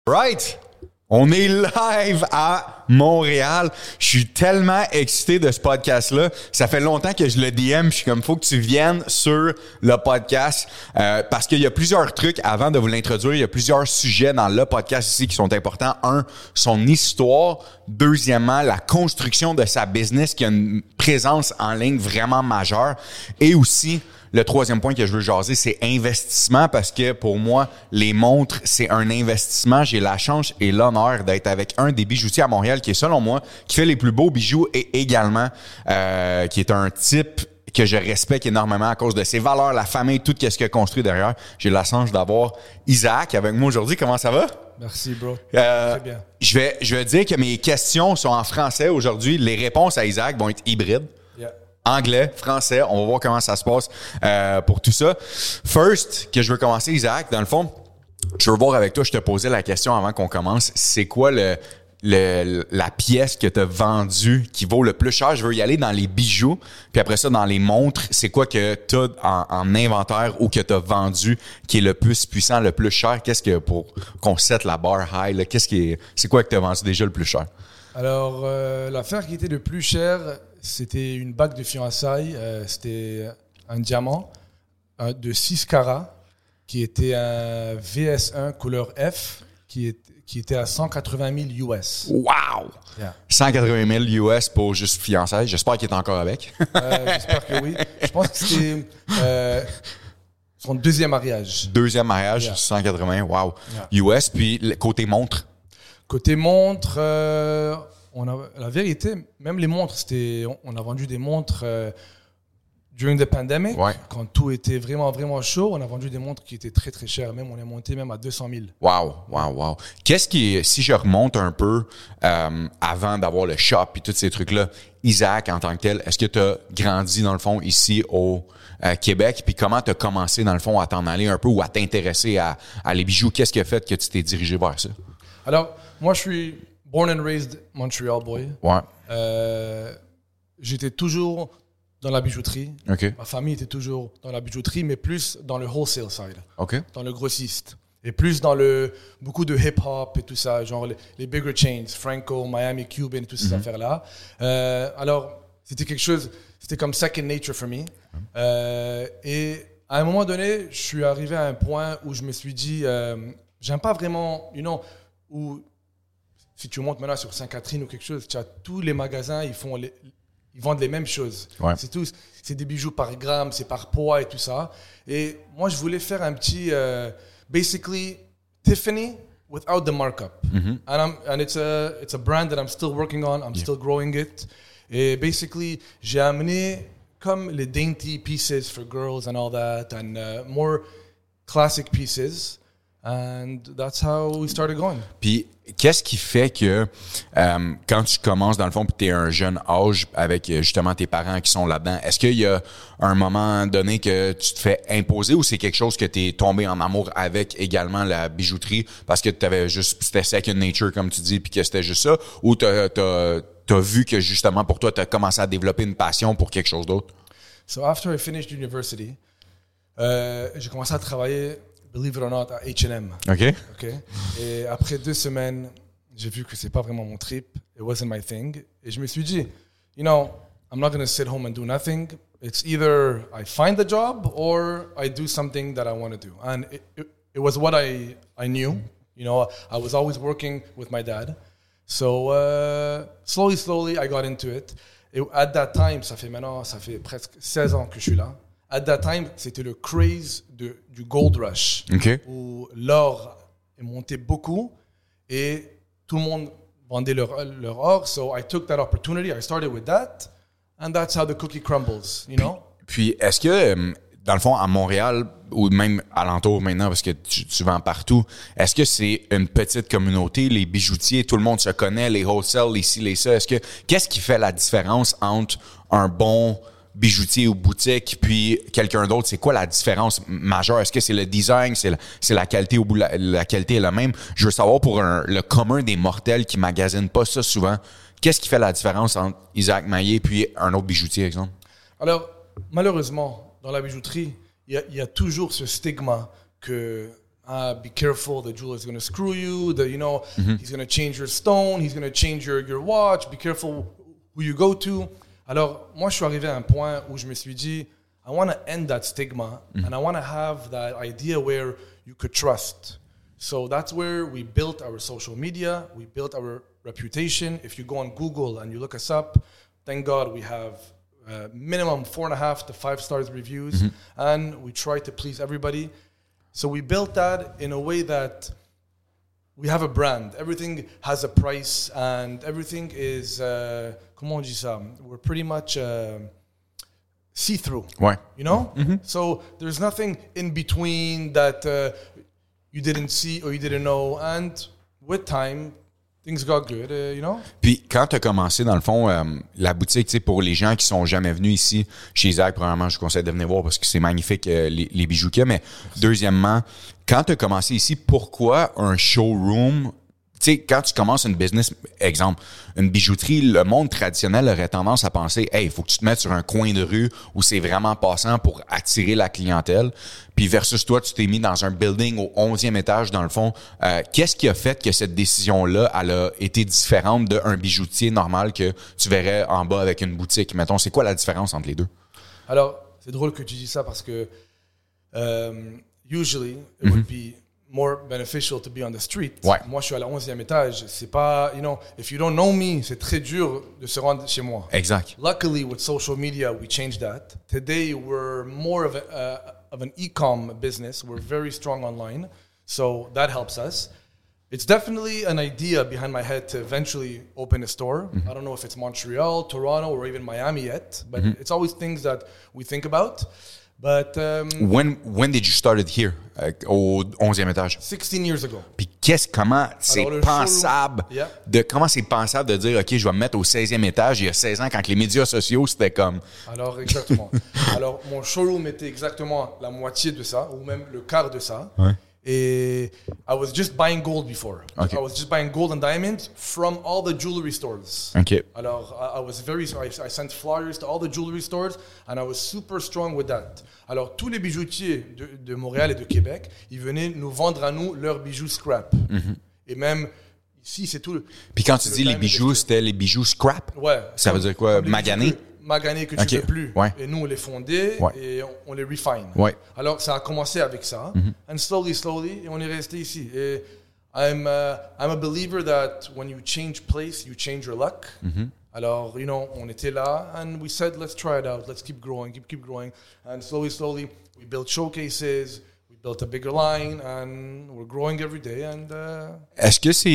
Right! On est live à Montréal. Je suis tellement excité de ce podcast-là. Ça fait longtemps que je le DM. Je suis comme, faut que tu viennes sur le podcast parce qu'il y a plusieurs trucs avant de vous l'introduire. Il y a plusieurs sujets dans le podcast ici qui sont importants. Un, son histoire. Deuxièmement, la construction de sa business qui a une présence en ligne vraiment majeure. Et aussi, le troisième point que je veux jaser, c'est investissement parce que pour moi, les montres, c'est un investissement. J'ai la chance et l'honneur d'être avec un des bijoutiers à Montréal qui est, selon moi, qui fait les plus beaux bijoux et également qui est un type que je respecte énormément à cause de ses valeurs, la famille, tout ce qu'il a construit derrière. J'ai la chance d'avoir Isaac avec moi aujourd'hui. Comment ça va? Merci, bro. Très bien. Je vais dire que mes questions sont en français aujourd'hui. Les réponses à Isaac vont être hybrides. Yeah. Anglais, français, on va voir comment ça se passe pour tout ça. First, que je veux commencer, Isaac, dans le fond, je veux voir avec toi, je te posais la question avant qu'on commence, c'est quoi la pièce que tu as vendue qui vaut le plus cher? Je veux y aller dans les bijoux, puis après ça, dans les montres, c'est quoi que tu as en inventaire ou que tu as vendu qui est le plus puissant, le plus cher? Qu'est-ce que, pour qu'on set la barre high, là, c'est quoi que tu as vendu déjà le plus cher? Alors, l'affaire qui était le plus chère, c'était une bague de fiançailles. C'était un diamant de 6 carats qui était un VS1 couleur F qui était à 180 000 US. Wow! Yeah. 180 000 US pour juste fiançailles. J'espère qu'il est encore avec. J'espère que oui. Je pense que c'était son deuxième mariage. Deuxième mariage, yeah. 180, wow. Yeah. US, puis côté montre? Côté montre, la vérité, même les montres, on a vendu des montres during the pandemic, ouais. Quand tout était vraiment, vraiment chaud. On a vendu des montres qui étaient très, très chères. Même, on est monté même à 200 000. Wow. Qu'est-ce qui, si je remonte un peu avant d'avoir le shop et tous ces trucs-là, Isaac, en tant que tel, est-ce que tu as grandi, dans le fond, ici au Québec? Puis comment tu as commencé, dans le fond, à t'en aller un peu ou à t'intéresser à les bijoux? Qu'est-ce qui a fait que tu t'es dirigé vers ça? Alors, moi, je suis born and raised Montreal boy. Ouais. J'étais toujours dans la bijouterie. Okay. Ma famille était toujours dans la bijouterie, mais plus dans le wholesale side. Okay. Dans le grossiste. Et plus dans beaucoup de hip-hop et tout ça, genre les bigger chains, Franco, Miami, Cuban, toutes ces affaires-là. Alors, c'était comme second nature for me. Et à un moment donné, je suis arrivé à un point où je me suis dit, j'aime pas vraiment, où si tu montes maintenant sur Sainte-Catherine ou quelque chose, tu as tous les magasins, ils vendent les mêmes choses. Ouais. C'est des bijoux par gramme, c'est par poids et tout ça. Et moi, je voulais faire un petit, basically, Tiffany without the markup. And it's a brand that I'm still working on. I'm still growing it. Et basically, j'ai amené comme les dainty pieces for girls and all that, and more classic pieces. And that's how we started going. Puis, qu'est-ce qui fait que quand tu commences, dans le fond, puis tu es un jeune âge avec justement tes parents qui sont là-dedans, est-ce qu'il y a un moment donné que tu te fais imposer ou c'est quelque chose que tu es tombé en amour avec également la bijouterie parce que c'était second nature, comme tu dis, puis que c'était juste ça, ou t'as vu que justement pour toi, tu as commencé à développer une passion pour quelque chose d'autre? So after I finished university, j'ai commencé à travailler, believe it or not, à H&M. OK. Et après 2 semaines, j'ai vu que c'est pas vraiment mon trip. It wasn't my thing. Et je me suis dit, I'm not going to sit home and do nothing. It's either I find the job or I do something that I want to do. And it was what I knew. I was always working with my dad. So slowly, I got into it. Et at that time, ça fait presque 16 ans que je suis là. At that time, c'était le craze du gold rush, où l'or est monté beaucoup et tout le monde vendait leur or. So I took that opportunity. I started with that, and that's how the cookie crumbles, Puis est-ce que, dans le fond, à Montréal, ou même alentour maintenant, parce que tu vends partout, est-ce que c'est une petite communauté, les bijoutiers, tout le monde se connaît, les wholesale, les ci, les ça? Qu'est-ce qui fait la différence entre un bon bijoutier ou boutique puis quelqu'un d'autre? C'est quoi la différence majeure? Est-ce que c'est le design, c'est la qualité au bout, la qualité est la même? Je veux savoir pour le commun des mortels qui magasinent pas ça souvent, qu'est-ce qui fait la différence entre Isaac Maillé puis un autre bijoutier, exemple? Alors, malheureusement, dans la bijouterie, il y a toujours ce stigma que be careful, the jeweler's going to screw you, he's going to change your stone, he's going to change your watch, be careful who you go to. Alors, moi, je suis arrivé à un point où je me suis dit, I want to end that stigma, and I want to have that idea where you could trust. So that's where we built our social media, we built our reputation. If you go on Google and you look us up, thank God we have minimum 4.5 to 5 stars reviews, and we try to please everybody. So we built that in a way that we have a brand. Everything has a price, and everything is, comment on dit ça? We're pretty much see-through, Ouais. you know? So there's nothing in between that you didn't see or you didn't know. And with time, things got good, you know? Puis, quand tu as commencé, dans le fond, la boutique, tu sais, pour les gens qui sont jamais venus ici, chez Zach, premièrement, je vous conseille de venir voir parce que c'est magnifique, les bijoux qu'il y a. Mais deuxièmement, quand tu as commencé ici, pourquoi un showroom? Tu sais, quand tu commences une business, exemple, une bijouterie, le monde traditionnel aurait tendance à penser, hey, il faut que tu te mettes sur un coin de rue où c'est vraiment passant pour attirer la clientèle. Puis versus toi, tu t'es mis dans un building au 11e étage, dans le fond. Qu'est-ce qui a fait que cette décision-là, elle a été différente d'un bijoutier normal que tu verrais en bas avec une boutique? Mettons, c'est quoi la différence entre les deux? Alors, c'est drôle que tu dis ça parce que usually it would be more beneficial to be on the street. Ouais. Moi, je suis à la 11e étage. C'est pas, if you don't know me, c'est très dur de se rendre chez moi. Exact. Luckily, with social media, we changed that. Today, we're more of an e-com business. We're very strong online. So that helps us. It's definitely an idea behind my head to eventually open a store. I don't know if it's Montreal, Toronto, or even Miami yet, but it's always things that we think about. But When did you started here, au 11e étage? 16 years ago. Puis comment c'est pensable comment c'est pensable de dire, OK, je vais me mettre au 16e étage il y a 16 ans quand les médias sociaux, c'était comme... Alors, exactement. Alors, mon showroom était exactement la moitié de ça, ou même le quart de ça. Ouais. Et I was just buying gold before. Okay. I was just buying gold and diamonds from all the jewelry stores. OK. Alors, I sent flyers to all the jewelry stores, and I was super strong with that. Alors, tous les bijoutiers de Montréal et de Québec, ils venaient nous vendre à nous leurs bijoux scrap. Et même ici, c'est tout. Puis quand tu dis les bijoux, c'était les bijoux scrap? Ouais. Ça veut dire quoi? Magané? Maganés que tu ne peux plus. Ouais. Et nous, on les fondait et on les refine. Ouais. Alors, ça a commencé avec ça. And slowly, et on est resté ici. Et I'm a believer that when you change place, you change your luck. Alors, on était là and we said, let's try it out. Let's keep growing, keep growing. And slowly, we built showcases. Built a bigger line and we're growing every day. And Est-ce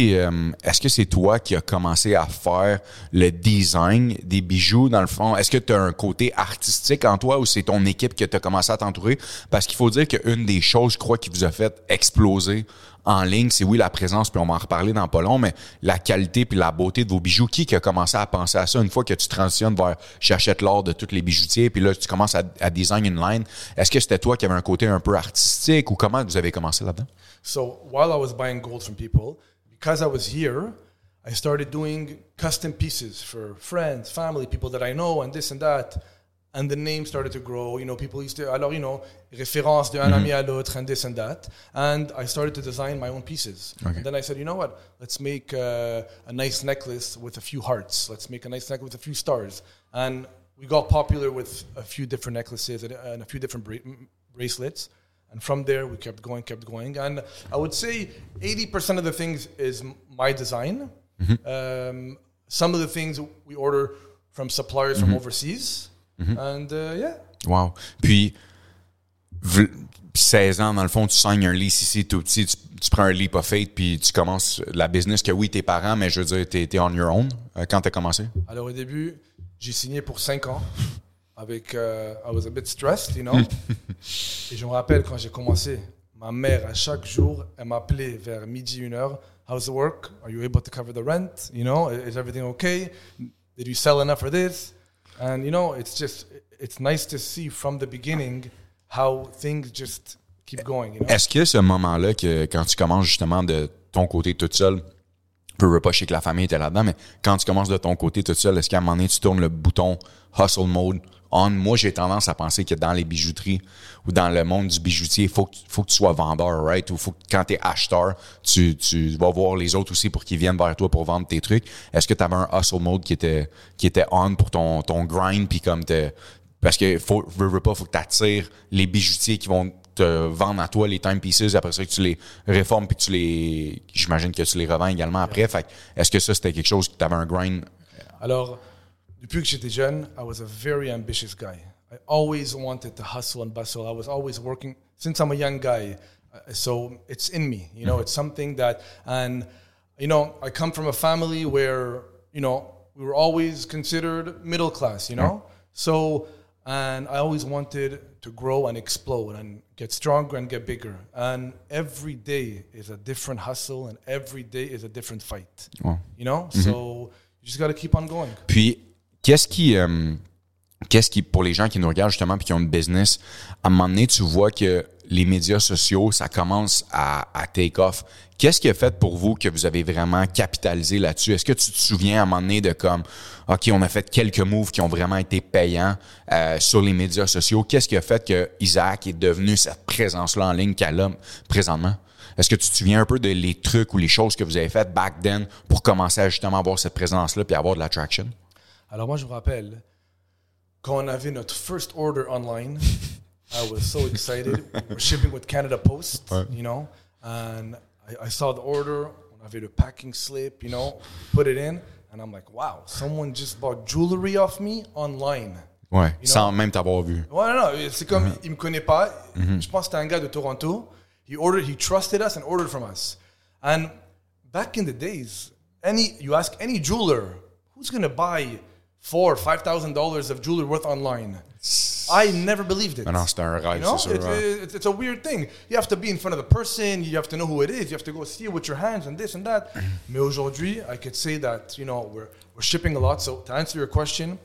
que c'est toi qui as commencé à faire le design des bijoux dans le fond? Est-ce que tu as un côté artistique en toi ou c'est ton équipe que tu as commencé à t'entourer? Parce qu'il faut dire qu'une des choses, je crois, qui vous a fait exploser en ligne, c'est oui la présence, puis on va en reparler dans pas long, mais la qualité puis la beauté de vos bijoux. Qui a commencé à penser à ça une fois que tu transitionnes vers j'achète l'or de tous les bijoutiers, puis là tu commences à design une line? Est-ce que c'était toi qui avais un côté un peu artistique ou comment vous avez commencé là-dedans? So while I was buying gold from people, because I was here, I started doing custom pieces for friends, family, people that I know, and this and that. And the name started to grow. People used to, alors, référence d'un ami à l'autre, and this and that. And I started to design my own pieces. Okay. And then I said, you know what? Let's make a nice necklace with a few hearts. Let's make a nice necklace with a few stars. And we got popular with a few different necklaces and a few different bracelets. And from there, we kept going. And I would say 80% of the things is my design. Some of the things we order from suppliers from overseas. And yeah. Wow. Puis 16 ans, dans le fond, tu signes un lease ici tout petit, tu prends un leap of faith, puis tu commences la business que oui, tes parents, mais je veux dire, t'es on your own quand t'as commencé? Alors au début, j'ai signé pour 5 ans. Avec, I was a bit stressed, Et je me rappelle quand j'ai commencé, ma mère, à chaque jour, elle m'appelait vers midi, 1h. How's the work? Are you able to cover the rent? Is everything okay? Did you sell enough for this? And, it's nice to see from the beginning how things just keep going, Est-ce que ce moment-là, que quand tu commences justement de ton côté toute seule, je pas, je sais que la famille était là-dedans, mais quand tu commences de ton côté toute seule, est-ce qu'à un moment donné, tu tournes le bouton hustle mode, on. Moi, j'ai tendance à penser que dans les bijouteries ou dans le monde du bijoutier, il faut que tu sois vendeur, right? Ou faut que quand t'es acheteur, tu vas voir les autres aussi pour qu'ils viennent vers toi pour vendre tes trucs. Est-ce que tu avais un hustle mode qui était on pour ton grind, puis comme parce que faut que t'attires les bijoutiers qui vont te vendre à toi les timepieces, après ça que tu les réformes puis j'imagine que tu les revends également après. Fait est-ce que ça c'était quelque chose que tu avais un grind? Alors, depuis que j'étais jeune, I was a very ambitious guy. I always wanted to hustle and bustle. I was always working since I'm a young guy. So it's in me, you know, it's something that, and, you know, I come from a family where, you know, we were always considered middle class, you know? So, and I always wanted to grow and explode and get stronger and get bigger. And every day is a different hustle and every day is a different fight, you know? So you just got to keep on going. Puis, qu'est-ce qui, pour les gens qui nous regardent justement puis qui ont une business, à un moment donné, tu vois que les médias sociaux, ça commence à take off. Qu'est-ce qui a fait pour vous que vous avez vraiment capitalisé là-dessus? Est-ce que tu te souviens à un moment donné de comme, OK, on a fait quelques moves qui ont vraiment été payants sur les médias sociaux? Qu'est-ce qui a fait que Isaac est devenu cette présence-là en ligne qu'elle a présentement? Est-ce que tu te souviens un peu de les trucs ou les choses que vous avez faites back then pour commencer à justement avoir cette présence-là puis avoir de l'attraction? Alors moi, je me rappelle, quand on avait notre first order online, I was so excited. We're shipping with Canada Post, you know, and I saw the order. On avait le packing slip, you know, put it in, and I'm like, wow, someone just bought jewelry off me online. Ouais, sans même t'avoir vu. Ouais, non, c'est comme, il me connaît pas. Je pense que c'était un gars de Toronto. He trusted us and ordered from us. And back in the days, you ask any jeweler, who's going to buy $4,000 or $5,000 of jewelry worth online? I never believed it. Non, c'est un rêve, you know? c'est sûr. It's a weird thing. You have to be in front of the person. You have to know who it is. You have to go see it with your hands and this and that. Mais aujourd'hui, I could say that, you know, we're shipping a lot. So to answer your question,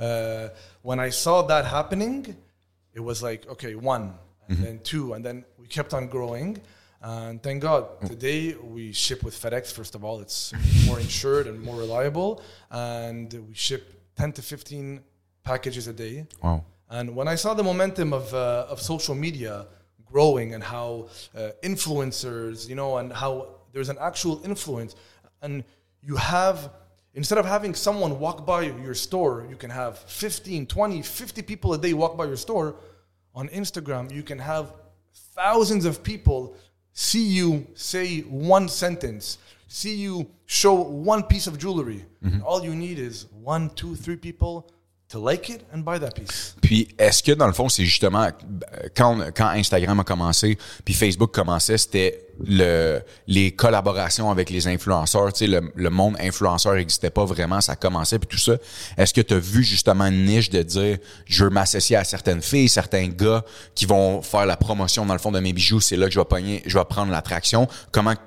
when I saw that happening, it was like, okay, one, and then two, and then we kept on growing. And thank God, today we ship with FedEx. First of all, it's more insured and more reliable. And we ship 10 to 15 packages a day. Wow. And when I saw the momentum of social media growing and how influencers, you know, and how there's an actual influence, and you have, instead of having someone walk by your store, you can have 15, 20, 50 people a day walk by your store. On Instagram, you can have thousands of people see you say one sentence, see you show one piece of jewelry. All you need is 1, 2, 3 people to like it and buy that piece. Puis, est-ce que dans le fond, c'est justement quand Instagram a commencé, puis Facebook commençait, c'était les collaborations avec les influenceurs, tu sais, le monde influenceur n'existait pas vraiment, ça commençait puis tout ça. Est-ce que tu as vu justement une niche de dire je veux m'associer à certaines filles, certains gars qui vont faire la promotion dans le fond de mes bijoux, c'est là que je vais prendre l'attraction. Comment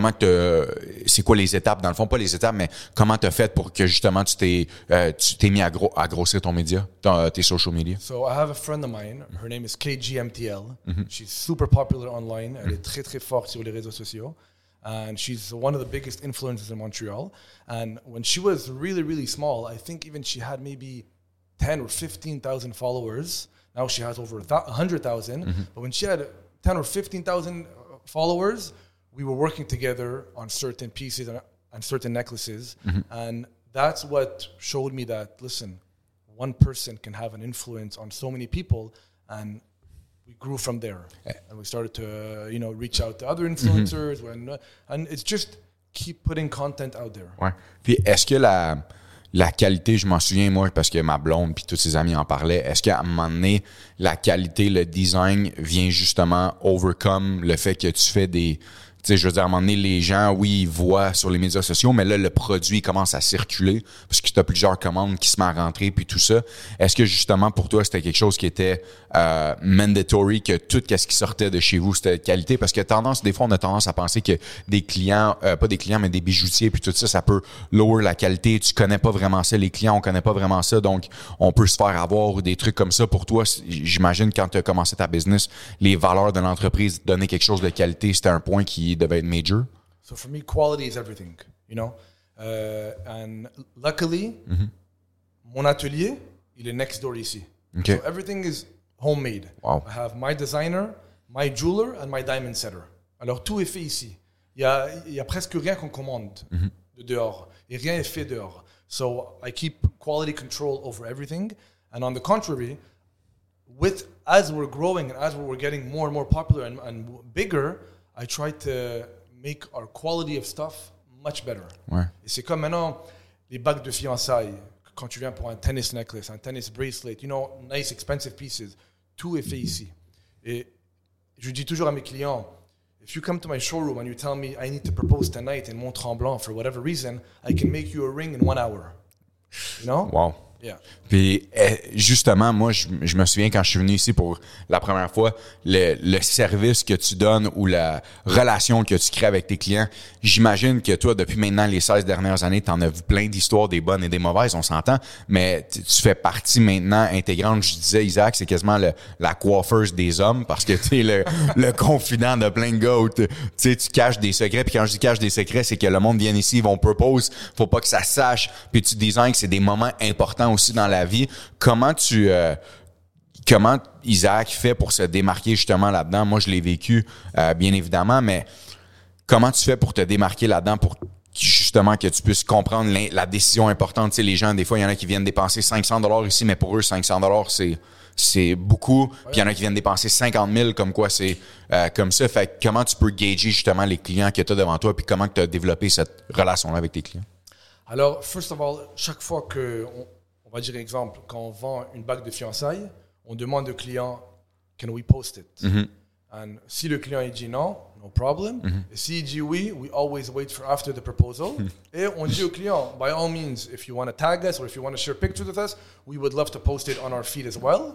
c'est quoi les étapes dans le fond, pas les étapes, mais comment tu as fait pour que justement tu t'es mis à grossir ton média, tes social media? So I have a friend of mine, her name is KGMTL. She's super popular online, elle est très très forte sur les réseaux sociaux. And she's one of the biggest influencers in Montreal. And when she was really, really small, I think even she had maybe 10 or 15,000 followers. Now she has over 100,000. But when she had 10 or 15,000 followers, we were working together on certain pieces and certain necklaces. And that's what showed me that, listen, one person can have an influence on so many people, and we grew from there, and we started to, you know, reach out to other influencers, and it's just keep putting content out there. Ouais. Puis est-ce que la qualité, je m'en souviens moi parce que ma blonde puis tous ses amis en parlaient, est-ce qu'à un moment donné, la qualité, le design vient justement overcome le fait que tu fais des... Tu sais, je veux dire, à un moment donné, les gens, oui, ils voient sur les médias sociaux, mais là, le produit commence à circuler parce que tu as plusieurs commandes qui se mettent à rentrer puis tout ça. Est-ce que, justement, pour toi, c'était quelque chose qui était mandatory, que tout ce qui sortait de chez vous, c'était de qualité? Parce que des fois, on a tendance à penser que des clients, pas des clients, mais des bijoutiers puis tout ça, ça peut lower la qualité. Tu connais pas vraiment ça. Les clients, on connaît pas vraiment ça. Donc, on peut se faire avoir ou des trucs comme ça. Pour toi, j'imagine, quand tu as commencé ta business, les valeurs de l'entreprise, donner quelque chose de qualité, c'était un point qui devait être major? So for me, quality is everything, you know. And luckily, mon atelier, il est next door ici. Okay. So everything is homemade. Wow. I have my designer, my jeweler, and my diamond setter. Alors, tout est fait ici. Il y a presque rien qu'on commande de dehors. Et rien est fait dehors. So I keep quality control over everything. And on the contrary, as we're growing and as we're getting more and more popular and bigger, I try to make our quality of stuff much better. Ouais. Et c'est comme maintenant les bagues de fiançailles. Quand tu viens pour un tennis necklace, un tennis bracelet, nice expensive pieces, tout est fait ici. Et je dis toujours à mes clients, if you come to my showroom and you tell me I need to propose tonight in Mont-Tremblant for whatever reason, I can make you a ring in 1 hour. You know? Wow. Yeah. Puis justement, moi, je me souviens quand je suis venu ici pour la première fois, le service que tu donnes ou la relation que tu crées avec tes clients, j'imagine que toi, depuis maintenant les 16 dernières années, tu en as vu plein d'histoires, des bonnes et des mauvaises, on s'entend, mais tu fais partie maintenant intégrante. Je disais, Isaac, c'est quasiment la coiffeuse des hommes parce que tu es le confident de plein de gars où tu caches des secrets. Puis quand je dis cache des secrets, c'est que le monde vient ici, ils vont propose, faut pas que ça sache. Puis tu designs que c'est des moments importants aussi dans la vie. Comment Isaac fait pour se démarquer justement là-dedans? Moi, je l'ai vécu, bien évidemment, mais comment tu fais pour te démarquer là-dedans pour justement que tu puisses comprendre la décision importante? Tu sais, les gens, des fois, il y en a qui viennent dépenser $500 ici, mais pour eux, $500, c'est beaucoup. Puis il y en a qui viennent dépenser 50 000, comme quoi c'est comme ça. Fait que comment tu peux gager justement les clients que tu as devant toi, puis comment tu as développé cette relation-là avec tes clients? Alors, first of all, chaque fois on va dire exemple, quand on vend une bague de fiançailles, on demande au client, can we post it? Mm-hmm. And si le client il dit non, no problem. Et s'il dit oui, we always wait for after the proposal. Et on dit au client, by all means, if you want to tag us or if you want to share pictures with us, we would love to post it on our feed as well.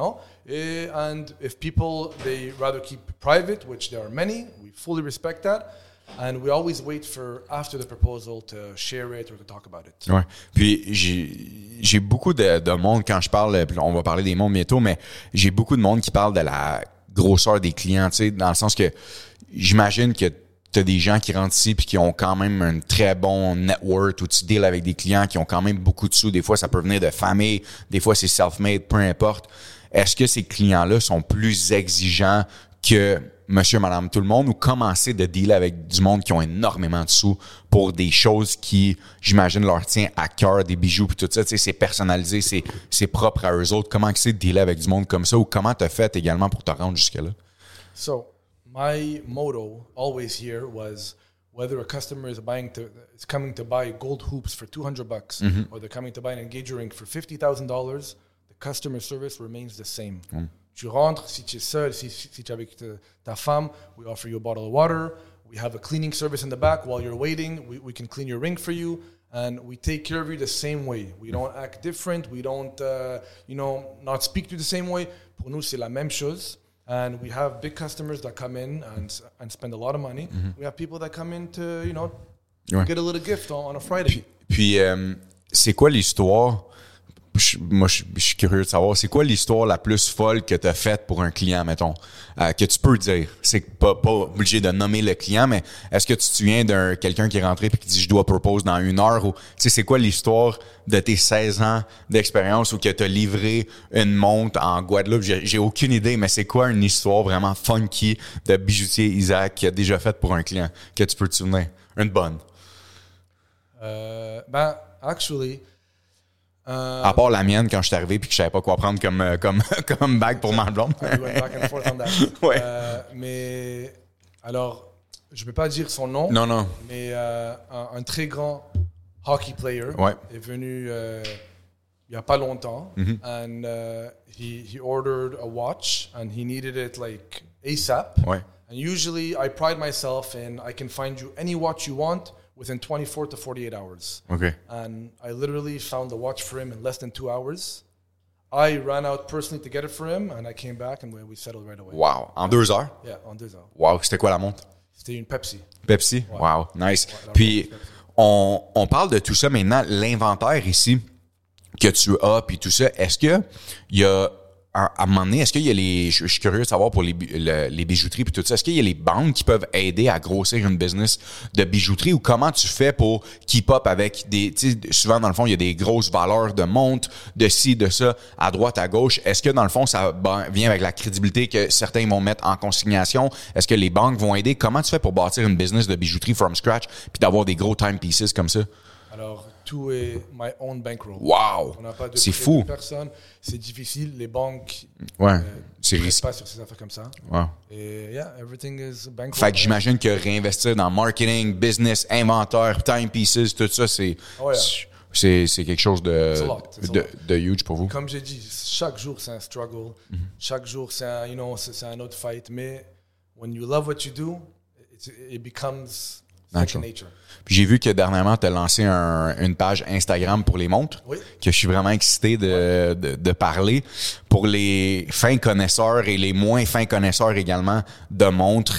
And if people, they rather keep private, which there are many, we fully respect that. And we always wait for after the proposal to share it or to talk about it. Ouais. Puis j'ai beaucoup de monde quand je parle, on va parler des mondes bientôt, mais j'ai beaucoup de monde qui parle de la grosseur des clients, tu sais, dans le sens que j'imagine que tu as des gens qui rentrent ici puis qui ont quand même un très bon network où tu deals avec des clients qui ont quand même beaucoup de sous. Des fois, ça peut venir de famille, des fois, c'est self-made, peu importe. Est-ce que ces clients-là sont plus exigeants que monsieur, madame, tout le monde, ou commencer de dealer avec du monde qui ont énormément de sous pour des choses qui, j'imagine, leur tient à cœur, des bijoux puis tout ça, tu sais, c'est personnalisé, c'est propre à eux autres. Comment c'est de dealer avec du monde comme ça, ou comment t'as fait également pour te rendre jusque-là? So, my motto always here was whether a customer is coming to buy gold hoops for $200 or they're coming to buy an engagement ring for $50,000, the customer service remains the same. Tu rentres, si tu es seul, si tu es avec ta femme, we offer you a bottle of water. We have a cleaning service in the back. While you're waiting, we can clean your ring for you. And we take care of you the same way. We don't act different. We don't, not speak to you the same way. Pour nous, c'est la même chose. And we have big customers that come in and spend a lot of money. We have people that come in to, get a little gift on a Friday. Puis c'est quoi l'histoire? Moi, je suis curieux de savoir, c'est quoi l'histoire la plus folle que tu as faite pour un client, mettons, que tu peux dire? C'est pas obligé de nommer le client, mais est-ce que tu te souviens d'un quelqu'un qui est rentré et qui dit « je dois propose dans 1 heure » ou tu sais, c'est quoi l'histoire de tes 16 ans d'expérience ou que tu as livré une montre en Guadeloupe? J'ai aucune idée, mais c'est quoi une histoire vraiment funky de bijoutier Isaac qui a déjà faite pour un client que tu peux te souvenir? Une bonne. Actually... à part la mienne quand je suis arrivé puis que je savais pas quoi prendre comme bague pour ma blonde. We went back and forth on that. Ouais. Mais alors, je ne peux pas dire son nom. Non. Mais un très grand hockey player est venu il y a pas longtemps. And he ordered a watch and he needed it like ASAP. Ouais. And usually I pride myself in I can find you any watch you want within 24 to 48 hours. Okay. And I literally found the watch for him in less than 2 hours. I ran out personally to get it for him, and I came back, and we settled right away. Wow. En 2 heures? Yeah, en 2 heures. Wow. C'était quoi la montre? C'était une Pepsi. Pepsi? Ouais. Wow. Nice. Ouais, puis, on parle de tout ça maintenant. L'inventaire ici que tu as, puis tout ça, est-ce que il y a à un moment donné, est-ce qu'il y a je suis curieux de savoir pour les bijouteries puis tout ça, est-ce qu'il y a les banques qui peuvent aider à grossir une business de bijouterie ou comment tu fais pour keep up avec tu sais, souvent dans le fond, il y a des grosses valeurs de montre, de ci, de ça, à droite, à gauche. Est-ce que dans le fond, ça vient avec la crédibilité que certains vont mettre en consignation? Est-ce que les banques vont aider? Comment tu fais pour bâtir une business de bijouterie from scratch puis d'avoir des gros timepieces comme ça? Alors, tout est my own bankroll. Wow! On n'a pas de C'est fou. de personne. C'est difficile. Les banques c'est risqué. pas sur ces affaires comme ça. Wow. Et everything is bankroll. Fait que j'imagine que réinvestir dans marketing, business, inventaire, timepieces, tout ça, c'est quelque chose de huge pour vous. Comme j'ai dit, chaque jour c'est un struggle. Chaque jour c'est un autre fight. Mais when you love what you do, it becomes second nature. Puis j'ai vu que dernièrement, tu as lancé une page Instagram pour les montres, que je suis vraiment excité de parler. Pour les fins connaisseurs et les moins fins connaisseurs également de montres,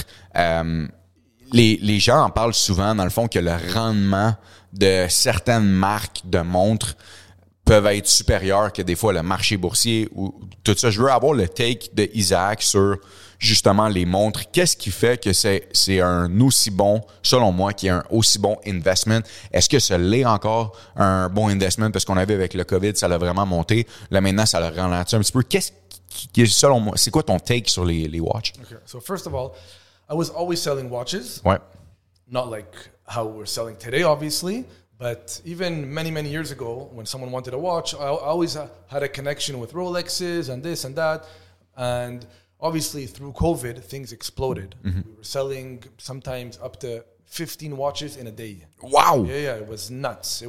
les gens en parlent souvent, dans le fond, que le rendement de certaines marques de montres peuvent être supérieurs que des fois le marché boursier ou tout ça. Je veux avoir le take de Isaac sur justement les montres. Qu'est-ce qui fait que c'est un aussi bon, selon moi, qui est un aussi bon investment? Est-ce que ça l'est encore un bon investment? Parce qu'on a vu avec le COVID, ça l'a vraiment monté. Là, maintenant, ça l'a ralenti un petit peu. Qu'est-ce qui est, selon moi, c'est quoi ton take sur les watches? Okay. So first of all, I was always selling watches. Ouais. Not like how we're selling today, obviously. But even many, many years ago, when someone wanted a watch, I always had a connection with Rolexes and this and that. And obviously, through COVID, things exploded. Mm-hmm. We were selling sometimes up to 15 watches in a day. Wow! Yeah, it was nuts.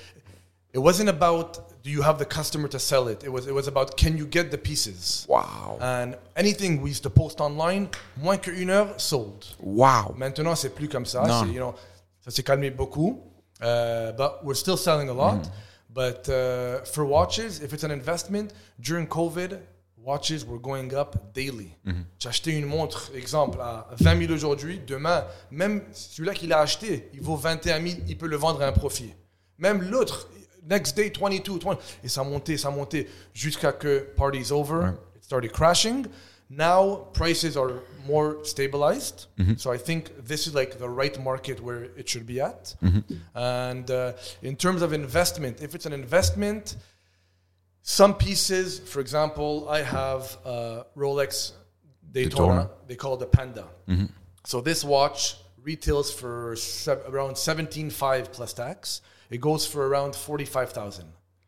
It wasn't about do you have the customer to sell it. It was about can you get the pieces. Wow! And anything we used to post online, moins qu'une heure, sold. Wow! Maintenant, c'est plus comme ça. Ça s'est calmé beaucoup. But we're still selling a lot. But for watches, if it's an investment, during COVID, watches were going up daily. J'ai acheté une montre, exemple, à 20 000 aujourd'hui. Demain, même celui-là qui l'a acheté, il vaut 21 000, il peut le vendre à un profit. Même l'autre, next day, 22, 20. Et ça montait jusqu'à que party's over. It started crashing. Now, prices are more stabilized. So I think this is like the right market where it should be at. And in terms of investment, if it's an investment, some pieces, for example, I have Rolex Daytona. They call it the Panda. So this watch retails for around 17,500 plus tax. It goes for around 45,000.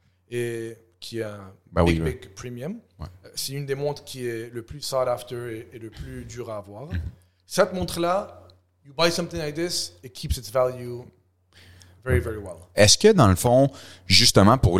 Et qui est un big premium. Ouais. C'est une des montres qui est le plus sought after et le plus dur à avoir. Cette montre-là, you buy something like this, it keeps its value very, very well. Est-ce que, dans le fond, justement, pour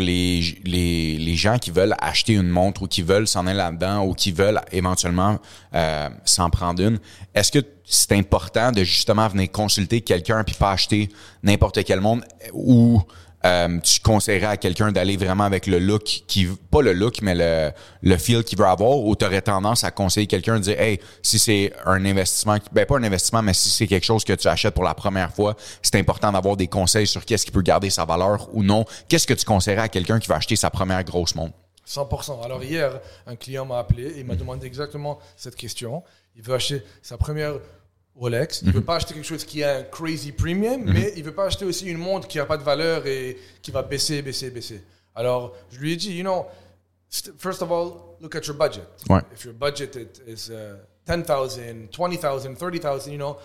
les gens qui veulent acheter une montre ou qui veulent s'en aller là-dedans ou qui veulent éventuellement s'en prendre une, est-ce que c'est important de justement venir consulter quelqu'un puis pas acheter n'importe quelle montre ou tu conseillerais à quelqu'un d'aller vraiment avec le look pas le look, mais le feel qu'il veut avoir, ou tu aurais tendance à conseiller quelqu'un de dire, hey, si c'est un investissement, pas un investissement, mais si c'est quelque chose que tu achètes pour la première fois, c'est important d'avoir des conseils sur qu'est-ce qui peut garder sa valeur ou non. Qu'est-ce que tu conseillerais à quelqu'un qui va acheter sa première grosse montre? 100%. Alors hier, un client m'a appelé et il m'a demandé exactement cette question. Il veut acheter sa première Rolex, il ne veut pas acheter quelque chose qui a un crazy premium, mais il ne veut pas acheter aussi une montre qui n'a pas de valeur et qui va baisser. Alors, je lui ai dit, first of all, look at your budget. Ouais. If your budget is 10,000, 20,000, 30,000,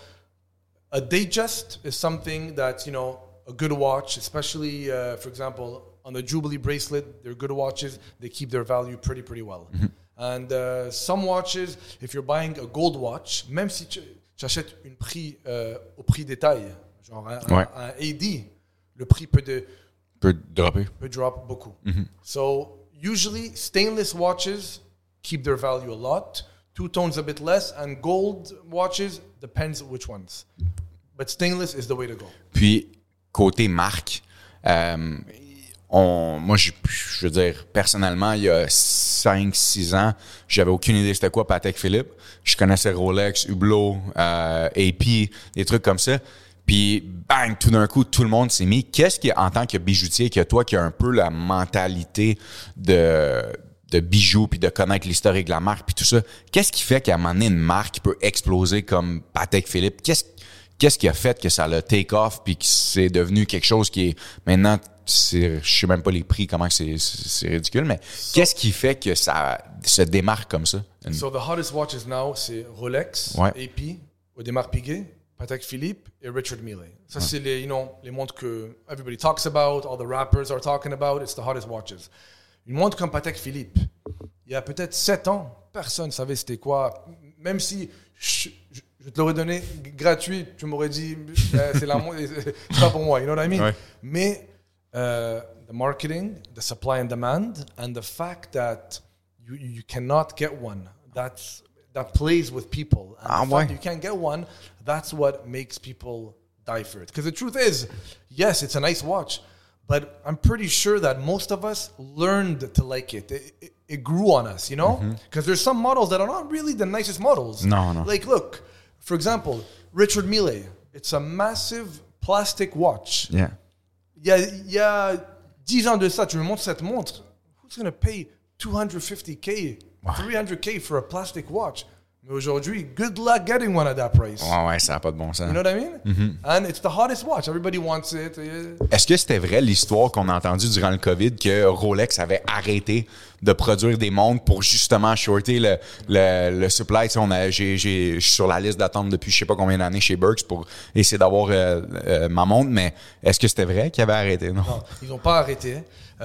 a Datejust is something that, a good watch, especially, for example, on the Jubilee bracelet, they're good watches, they keep their value pretty well. And some watches, if you're buying a gold watch, même si tu achètes un prix au prix détail, genre un AD, le prix peut drop beaucoup. So usually stainless watches keep their value a lot, two tones a bit less, and gold watches depends which ones. But stainless is the way to go. Puis côté marque, moi, je veux dire, personnellement, il y a 5-6 ans, j'avais aucune idée c'était quoi Patek Philippe. Je connaissais Rolex, Hublot, AP, des trucs comme ça. Puis, bang, tout d'un coup, tout le monde s'est mis. Qu'est-ce qui, en tant que bijoutier, que toi qui as un peu la mentalité de bijoux, puis de connaître l'historique de la marque, puis tout ça. Qu'est-ce qui fait qu'à un moment donné, une marque peut exploser comme Patek Philippe? Qu'est-ce qui a fait que ça l'a take off, puis que c'est devenu quelque chose qui est maintenant, je sais même pas les prix, comment que c'est ridicule, mais qu'est-ce qui fait que ça se démarque comme ça? So the hottest watches now, c'est Rolex, Ouais. AP, Audemars Piguet, Patek Philippe et Richard Mille. Ça, c'est les montres que everybody talks about, all the rappers are talking about, it's the hottest watches. Une montre comme Patek Philippe, il y a peut-être 7 ans, personne ne savait c'était quoi. Même si je te l'aurais donné gratuit, tu m'aurais dit, c'est la montre, c'est pas pour moi, you know what I mean? Ouais. Mais the marketing, the supply and demand, and the fact that you cannot get one, that plays with people. And the fact that you can't get one, that's what makes people die for it. Because the truth is, yes, it's a nice watch, but I'm pretty sure that most of us learned to like it. It grew on us, you know? Because there's some models that are not really the nicest models. No. Like, look, for example, Richard Mille. It's a massive plastic watch. Yeah. Il y a 10 ans de ça, tu me montres cette montre. Who's going to pay $250K, $300K for a plastic watch? Mais aujourd'hui, good luck getting one at that price. Ouais, ça n'a pas de bon sens. You know what I mean? And it's the hottest watch. Everybody wants it. Est-ce que c'était vrai l'histoire qu'on a entendue durant le COVID que Rolex avait arrêté de produire des montres pour justement shorter le supply? Tu sais, je suis sur la liste d'attente depuis je sais pas combien d'années chez Birks pour essayer d'avoir ma montre, mais est-ce que c'était vrai qu'ils avaient arrêté? Non, ils n'ont pas arrêté.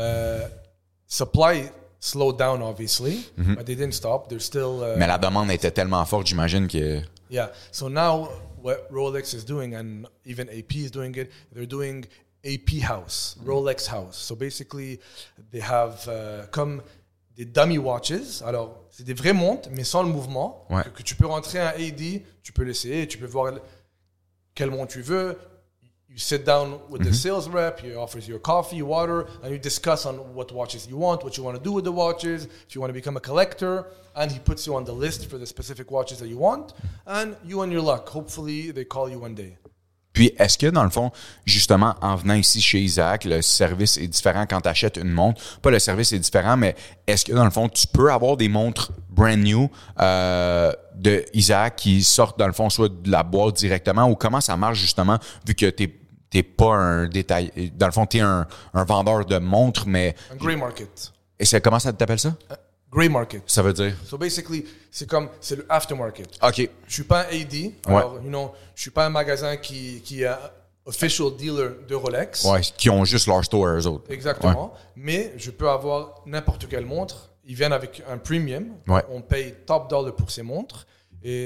Supply slowed down, obviously, but they didn't stop. They're still... mais la demande était tellement forte, j'imagine que... Yeah. So now what Rolex is doing, and even AP is doing it, they're doing AP House, Rolex House. So basically, they have comme des dummy watches. Alors, c'est des vraies montres, mais sans le mouvement. Ouais. Que tu peux rentrer un AD, tu peux l'essayer, tu peux voir quelle montre tu veux. You sit down with the sales rep, he offers you coffee, water, and you discuss on what watches you want, what you want to do with the watches, if you want to become a collector, and he puts you on the list for the specific watches that you want, and you and your luck. Hopefully, they call you one day. Puis, est-ce que, dans le fond, justement, en venant ici chez Isaac, le service est différent quand tu achètes une montre? Pas le service est différent, mais est-ce que, dans le fond, tu peux avoir des montres brand new de Isaac qui sortent, dans le fond, soit de la boîte directement, ou comment ça marche, justement, vu que t'es pas un détail... Dans le fond, t'es un vendeur de montres, mais... Un grey market. Et comment ça t'appelle ça? Grey market. Ça veut dire? So basically, c'est le aftermarket. OK. Je suis pas un AD. Alors, je suis pas un magasin qui est un official dealer de Rolex. Ouais, qui ont juste leur store eux autres. Exactement. Ouais. Mais je peux avoir n'importe quelle montre. Ils viennent avec un premium. Ouais. On paye top dollar pour ces montres. Et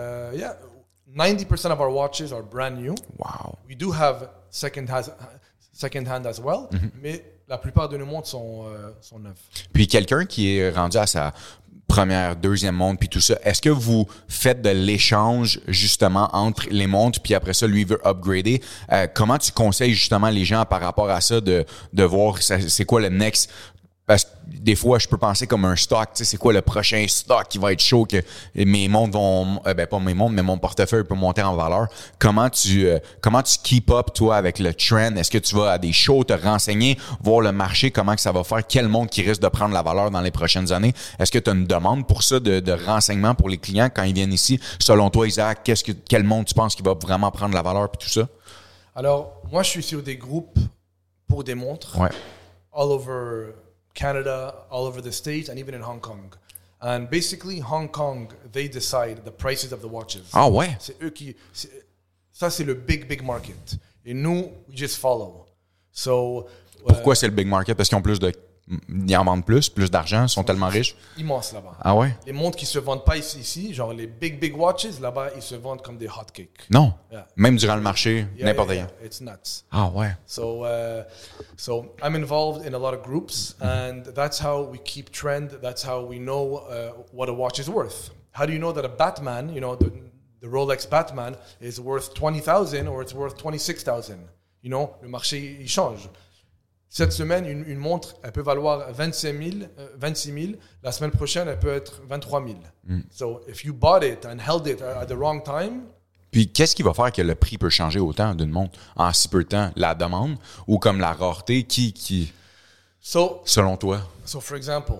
90% of our watches are brand new. Wow. We do have second hand as well. Mais la plupart de nos montres sont neuves. Puis quelqu'un qui est rendu à sa première, deuxième montre, puis tout ça, est-ce que vous faites de l'échange justement entre les montres, puis après ça, lui veut upgrader? Comment tu conseilles justement les gens par rapport à ça de voir c'est quoi le next? Parce que des fois, je peux penser comme un stock, tu sais, c'est quoi le prochain stock qui va être chaud, que mes montres vont, pas mes montres, mais mon portefeuille peut monter en valeur. Comment tu keep up, toi, avec le trend? Est-ce que tu vas à des shows te renseigner, voir le marché, comment que ça va faire, quelle montre qui risque de prendre la valeur dans les prochaines années? Est-ce que tu as une demande pour ça, de renseignements pour les clients quand ils viennent ici? Selon toi, Isaac, quelle montre tu penses qui va vraiment prendre la valeur puis tout ça? Alors, moi, je suis sur des groupes pour des montres. Ouais. All over Canada, all over the States, and even in Hong Kong. And basically, Hong Kong, they decide the prices of the watches. Ah ouais? C'est eux ça, c'est le big market. Et nous, we just follow. So, pourquoi c'est le big market? Parce qu'ils ont ils en vendent plus d'argent, ils sont tellement riches. Immense là-bas. Ah ouais? Les montres qui se vendent pas ici, genre les big watches, là-bas, ils se vendent comme des hotcakes. Non. Yeah. Même durant le marché, n'importe quand. It's nuts. Ah ouais. So I'm involved in a lot of groups, and that's how we keep trend. That's how we know what a watch is worth. How do you know that a Batman, the Rolex Batman, is worth 20,000 or it's worth 26,000? Le marché, il change. Cette semaine, une montre, elle peut valoir 26 000. La semaine prochaine, elle peut être 23 000. So if you bought it and held it at the wrong time... Puis, qu'est-ce qui va faire que le prix peut changer autant d'une montre en si peu de temps? La demande ou comme la rareté? selon toi? So, for example,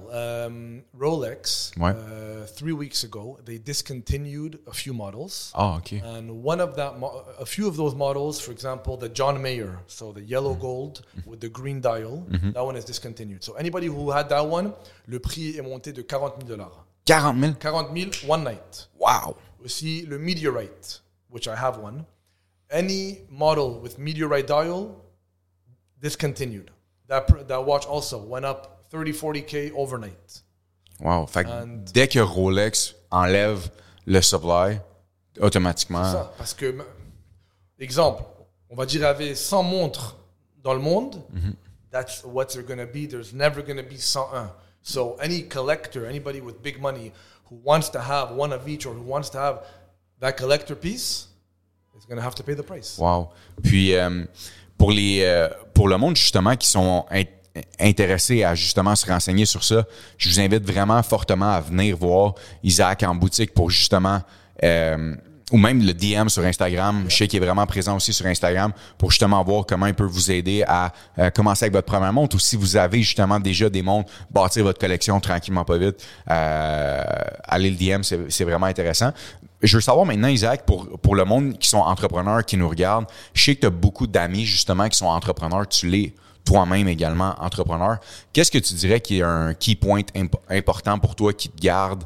Rolex, Ouais. 3 weeks ago, they discontinued a few models. Ah, OK. And a few of those models, for example, the John Mayer, so the yellow gold with the green dial, that one is discontinued. So anybody who had that one, le prix est monté de $40,000. 40 000? 40,000 one night. Wow! Aussi, le Meteorite, which I have one. Any model with Meteorite dial, discontinued. That watch also went up 30-40K overnight. Wow! Fait que dès que Rolex enlève le supply, automatiquement... C'est ça, parce que, exemple, on va dire, il y avait 100 montres dans le monde, that's what they're going to be. There's never going to be 101. So any collector, anybody with big money who wants to have one of each or who wants to have that collector piece is going to have to pay the price. Wow! Puis, pour le monde, justement, qui sont intéressés à, justement, se renseigner sur ça, je vous invite vraiment fortement à venir voir Isaac en boutique pour, justement... ou même le DM sur Instagram. Je sais qu'il est vraiment présent aussi sur Instagram pour justement voir comment il peut vous aider à commencer avec votre première montre ou si vous avez justement déjà des montres, bâtir votre collection tranquillement pas vite. Allez le DM, c'est vraiment intéressant. Je veux savoir maintenant, Isaac, pour le monde qui sont entrepreneurs, qui nous regardent, je sais que tu as beaucoup d'amis justement qui sont entrepreneurs, tu l'es toi-même également entrepreneur. Qu'est-ce que tu dirais qui est un key point important pour toi qui te garde?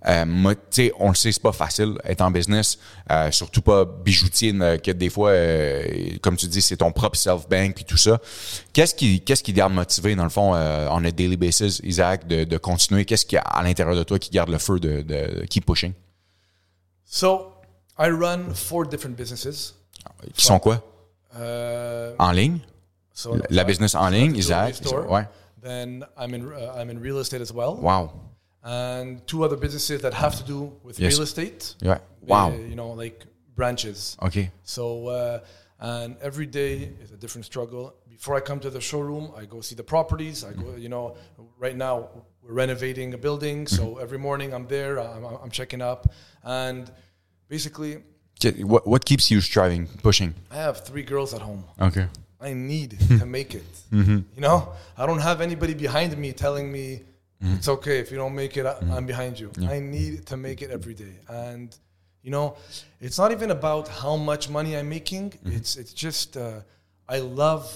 On le sait, c'est pas facile être en business, surtout pas bijoutier, que des fois, comme tu dis, c'est ton propre self-bank puis tout ça. Qu'est-ce qui te garde motivé, dans le fond, on a daily basis, Isaac, de continuer? Qu'est-ce qu'il y a à l'intérieur de toi qui garde le feu de keep pushing? So, I run 4 different businesses. Qui sont quoi? En ligne? So La business en ligne, Isaac? Ouais. Then I'm in real estate as well. Wow. And 2 other businesses that have to do with real estate. Yeah. Wow. Like branches. Okay. So, and every day is a different struggle. Before I come to the showroom, I go see the properties. I go, right now we're renovating a building. So every morning I'm there, I'm checking up. And basically... What keeps you striving, pushing? I have 3 girls at home. Okay. I need to make it. I don't have anybody behind me telling me, it's okay if you don't make it, I'm behind you. Yeah. I need to make it every day. And, it's not even about how much money I'm making. It's just, I love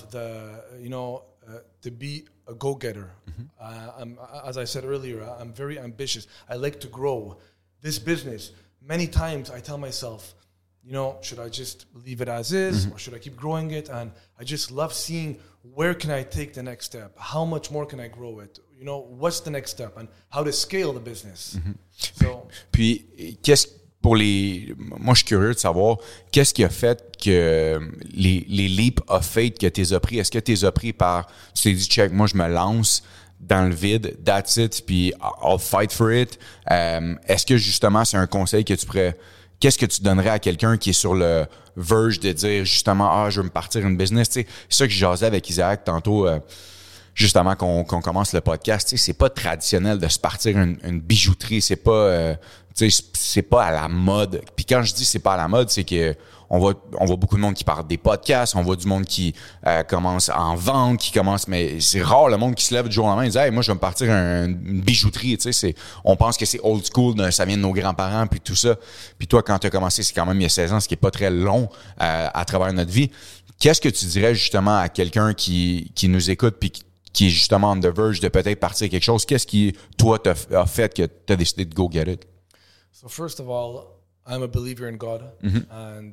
to be a go-getter. As I said earlier, I'm very ambitious. I like to grow this business. Many times I tell myself, should I just leave it as is or should I keep growing it? And I just love seeing where can I take the next step? How much more can I grow it? What's the next step and how to scale the business. So, puis, moi, je suis curieux de savoir, qu'est-ce qui a fait que les leap of faith que tu as pris, est-ce que tu les as pris tu t'es dit, check, moi, je me lance dans le vide, that's it, puis I'll fight for it. Est-ce que, justement, c'est un conseil que tu pourrais... Qu'est-ce que tu donnerais à quelqu'un qui est sur le verge de dire, justement, je veux me partir une business? C'est ça que je jasais avec Isaac tantôt, justement, qu'on commence le podcast. C'est pas traditionnel de se partir une bijouterie. C'est pas... c'est pas à la mode. Puis quand je dis c'est pas à la mode, c'est que on voit beaucoup de monde qui parle des podcasts, on voit du monde qui commence à en vendre, mais c'est rare le monde qui se lève du jour au lendemain et dit hey, moi je vais me partir une bijouterie, on pense que c'est old school, ça vient de nos grands-parents puis tout ça. Puis toi quand tu as commencé, c'est quand même il y a 16 ans, ce qui est pas très long à travers notre vie. Qu'est-ce que tu dirais justement à quelqu'un qui nous écoute puis qui est justement on the verge de peut-être partir quelque chose? Qu'est-ce qui toi t'a fait que tu as décidé de go get it? So first of all, I'm a believer in God, and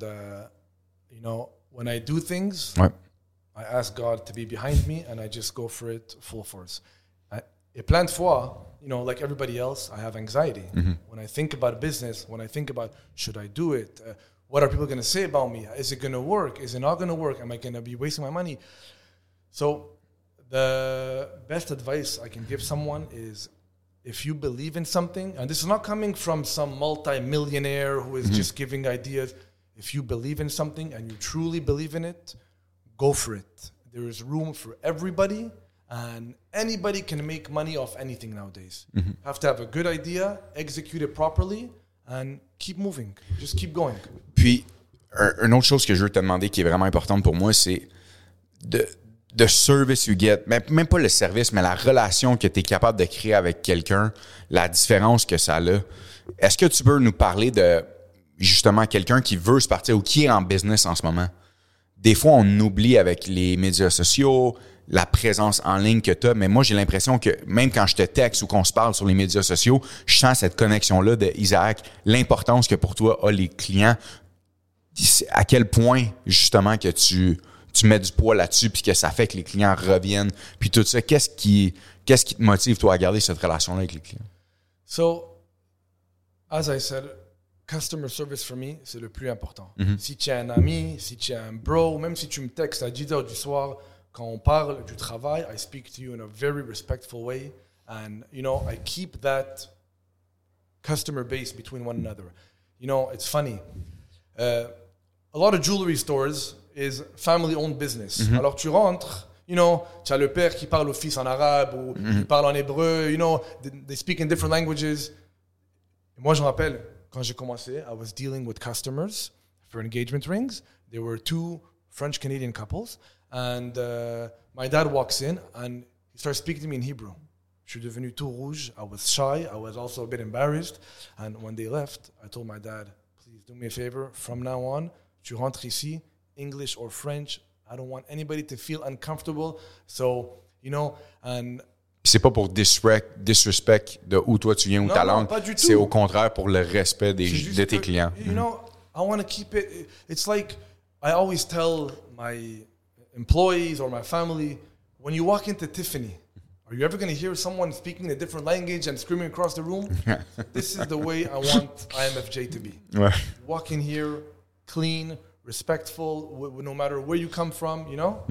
when I do things, ouais. I ask God to be behind me, and I just go for it full force. Et plein de fois, like everybody else, I have anxiety. When I think about business, when I think about should I do it, what are people going to say about me? Is it going to work? Is it not going to work? Am I going to be wasting my money? So the best advice I can give someone is, if you believe in something, and this is not coming from some multi-millionaire who is just giving ideas. If you believe in something and you truly believe in it, go for it. There is room for everybody, and anybody can make money off anything nowadays. You have to have a good idea, execute it properly, and keep moving. Just keep going. Puis, une autre chose que je veux te demander qui est vraiment importante pour moi, c'est the service you get, même pas le service, mais la relation que tu es capable de créer avec quelqu'un, la différence que ça a. Est-ce que tu peux nous parler de, justement, quelqu'un qui veut se partir ou qui est en business en ce moment? Des fois, on oublie avec les médias sociaux, la présence en ligne que tu as, mais moi, j'ai l'impression que même quand je te texte ou qu'on se parle sur les médias sociaux, je sens cette connexion-là de Isaac, l'importance que pour toi a les clients, à quel point, justement, que tu mets du poids là-dessus puis que ça fait que les clients reviennent, puis tout ça. Qu'est-ce qui te motive, toi, à garder cette relation-là avec les clients? So, as I said, customer service for me, c'est le plus important. Si tu es un ami, si tu es un bro, même si tu me textes à 10 h du soir, quand on parle du travail, I speak to you in a very respectful way. And, I keep that customer base between one another. It's funny. A lot of jewelry stores is family-owned business. Alors, tu rentres, tu as le père qui parle au fils en arabe ou il parle en hébreu, they speak in different languages. Et moi, je me rappelle, quand j'ai commencé, I was dealing with customers for engagement rings. There were 2 French-Canadian couples. And my dad walks in and he starts speaking to me in Hebrew. Je suis devenu tout rouge. I was shy. I was also a bit embarrassed. And when they left, I told my dad, please do me a favor. From now on, tu rentres ici, English or French. I don't want anybody to feel uncomfortable. So, and... C'est pas pour disrespect de où toi tu viens ou ta langue. Pas du tout. C'est au contraire pour le respect de tes clients. I want to keep it... It's like I always tell my employees or my family, when you walk into Tiffany, are you ever going to hear someone speaking a different language and screaming across the room? This is the way I want IMFJ to be. Ouais. Walk in here, clean, respectful, no matter where you come from,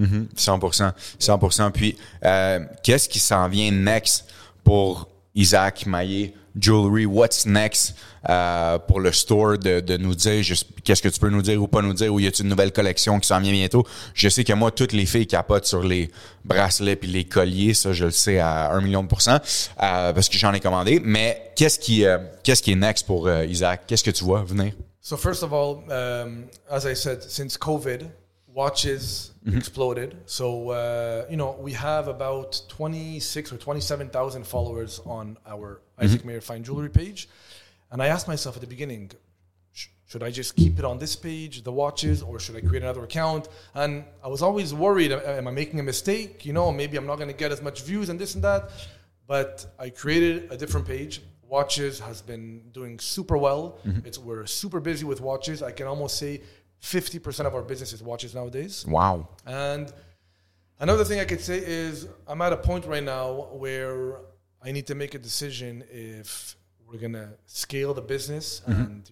100%. Puis, qu'est-ce qui s'en vient next pour Isaac Maillé Jewelry? What's next pour le store de nous dire qu'est-ce que tu peux nous dire ou pas nous dire, ou y a-t-il une nouvelle collection qui s'en vient bientôt? Je sais que moi, toutes les filles capotent sur les bracelets puis les colliers, ça je le sais à 1,000,000%, parce que j'en ai commandé. Mais qu'est-ce qui est next pour Isaac? Qu'est-ce que tu vois venir? So first of all, as I said, since COVID, watches exploded. So, we have about 26 or 27,000 followers on our Isaac Mayer Fine Jewelry page. And I asked myself at the beginning, should I just keep it on this page, the watches, or should I create another account? And I was always worried, am I making a mistake? Maybe I'm not going to get as much views and this and that. But I created a different page. Watches has been doing super well. We're super busy with watches. I can almost say 50% of our business is watches nowadays. Wow. And another thing I could say is I'm at a point right now where I need to make a decision if we're going to scale the business and,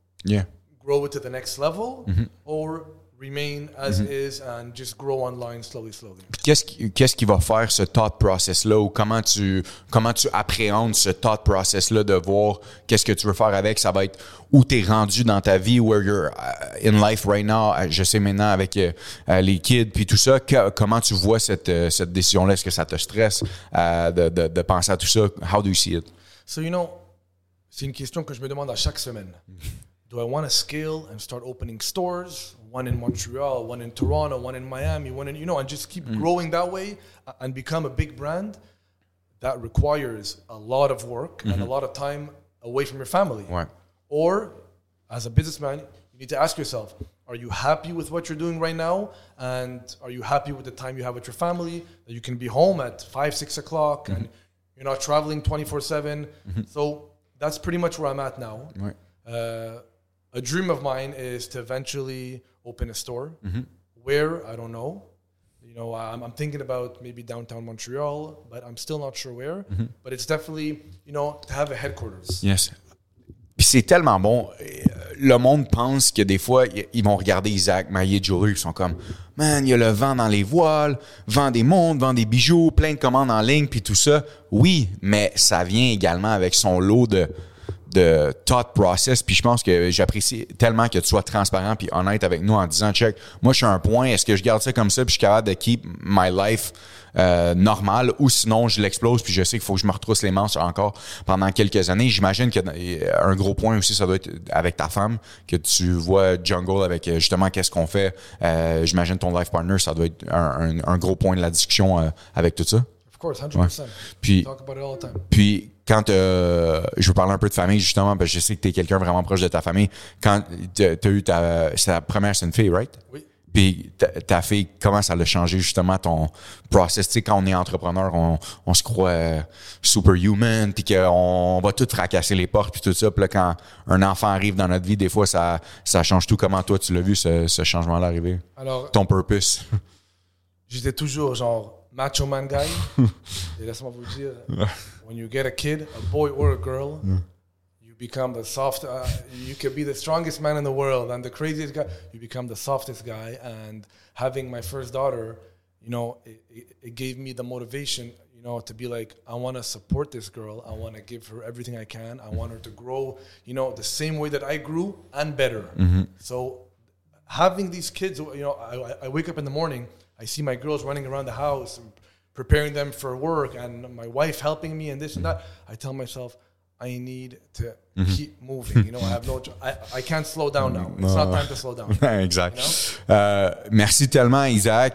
grow it to the next level or remain as is and just grow online slowly. Qu'est-ce qui va faire ce thought process-là, ou comment tu appréhendes ce thought process-là de voir qu'est-ce que tu veux faire avec? Ça va être où t'es rendu dans ta vie, where you're in life right now. Je sais maintenant avec les kids puis tout ça, comment tu vois cette décision-là? Est-ce que ça te stresse de penser à tout ça? How do you see it? So, c'est une question que je me demande à chaque semaine. Do I want to scale and start opening stores? One in Montreal, one in Toronto, one in Miami, one in, and just keep growing that way and become a big brand? That requires a lot of work and a lot of time away from your family. Ouais. Or, as a businessman, you need to ask yourself, are you happy with what you're doing right now? And are you happy with the time you have with your family? That you can be home at 5, 6 o'clock and you're not traveling 24/7. So that's pretty much where I'm at now. Ouais. A dream of mine is to eventually open a store. Where, I don't know. I'm thinking about maybe downtown Montreal, but I'm still not sure where. But it's definitely, to have a headquarters. Yes. Puis c'est tellement bon. Le monde pense que des fois, ils vont regarder Isaac Maillé Jewelry, ils sont comme, man, il y a le vent dans les voiles, vend des montres, vend des bijoux, plein de commandes en ligne, puis tout ça. Oui, mais ça vient également avec son lot de thought process. Puis je pense que j'apprécie tellement que tu sois transparent puis honnête avec nous en disant, check, moi je suis à un point, est-ce que je garde ça comme ça puis je suis capable de keep my life normal, ou sinon je l'explose puis je sais qu'il faut que je me retrousse les manches encore pendant quelques années. J'imagine qu'un gros point aussi, ça doit être avec ta femme, que tu vois Jungle avec justement qu'est-ce qu'on fait. J'imagine ton life partner, ça doit être un gros point de la discussion avec tout ça. Of course, 100%. Puis, talk about it all the time. Puis quand je veux parler un peu de famille justement, parce que je sais que tu es quelqu'un vraiment proche de ta famille. Quand tu as eu c'est la première, c'est une fille, right? Oui. Puis ta fille, comment ça a changé justement ton process? Tu sais, quand on est entrepreneur, on se croit superhuman, puis qu'on va tout fracasser les portes, puis tout ça. Puis là, quand un enfant arrive dans notre vie, des fois, ça change tout. Comment toi, tu l'as vu, ce changement-là arriver? Alors, ton purpose? J'étais toujours genre macho man guy. Et laisse-moi vous dire, when you get a kid, a boy or a girl, you become the soft, you can be the strongest man in the world and the craziest guy, you become the softest guy. And having my first daughter, you know, it gave me the motivation, you know, to be like, I want to support this girl. I want to give her everything I can. I want her to grow, you know, the same way that I grew and better. Mm-hmm. So having these kids, you know, I wake up in the morning, I see my girls running around the house, preparing them for work, and my wife helping me and this and that. I tell myself, I need to keep moving. You know, I can't slow down now. It's not time to slow down. Exact. You know? Merci tellement, Isaac,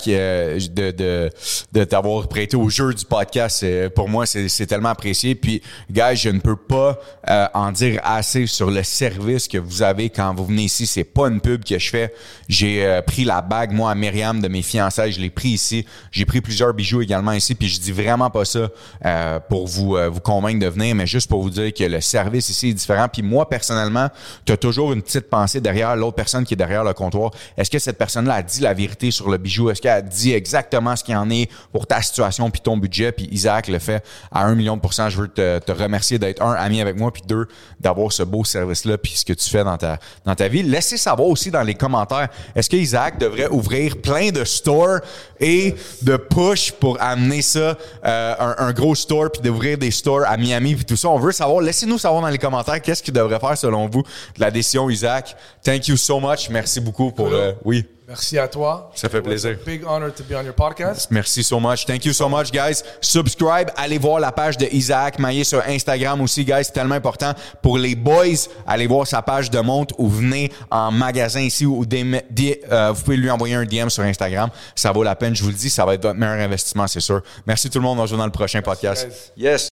de t'avoir prêté au jeu du podcast. Pour moi, c'est tellement apprécié. Puis, guys, je ne peux pas en dire assez sur le service que vous avez quand vous venez ici. C'est pas une pub que je fais. J'ai pris la bague, moi, à Myriam, de mes fiançailles. Je l'ai pris ici. J'ai pris plusieurs bijoux également ici. Puis, je dis vraiment pas ça pour vous convaincre de venir, mais juste pour vous dire que le service ici est différent. Puis moi, personnellement, tu as toujours une petite pensée derrière l'autre personne qui est derrière le comptoir. Est-ce que cette personne-là a dit la vérité sur le bijou? Est-ce qu'elle a dit exactement ce qu'il en est pour ta situation puis ton budget? Puis Isaac le fait à 1,000,000%. Je veux te remercier d'être, ami avec moi, puis deux, d'avoir ce beau service-là puis ce que tu fais dans ta vie. Laissez savoir aussi dans les commentaires, est-ce que Isaac devrait ouvrir plein de stores et de push pour amener ça, un gros store, puis d'ouvrir des stores à Miami puis tout ça? On veut savoir. Laissez-nous savoir dans les commentaires qu'est-ce qu'il devrait faire selon vous de la décision, Isaac. Thank you so much. Merci beaucoup pour... oui. Merci à toi. Ça fait plaisir. It's a big honor to be on your podcast. Merci so much. Thank you so much, guys. Subscribe. Allez voir la page de Isaac Maillé sur Instagram aussi, guys. C'est tellement important. Pour les boys, allez voir sa page de montre ou venez en magasin ici ou vous pouvez lui envoyer un DM sur Instagram. Ça vaut la peine. Je vous le dis, ça va être votre meilleur investissement, c'est sûr. Merci tout le monde. On se voit dans le prochain podcast. Guys. Yes.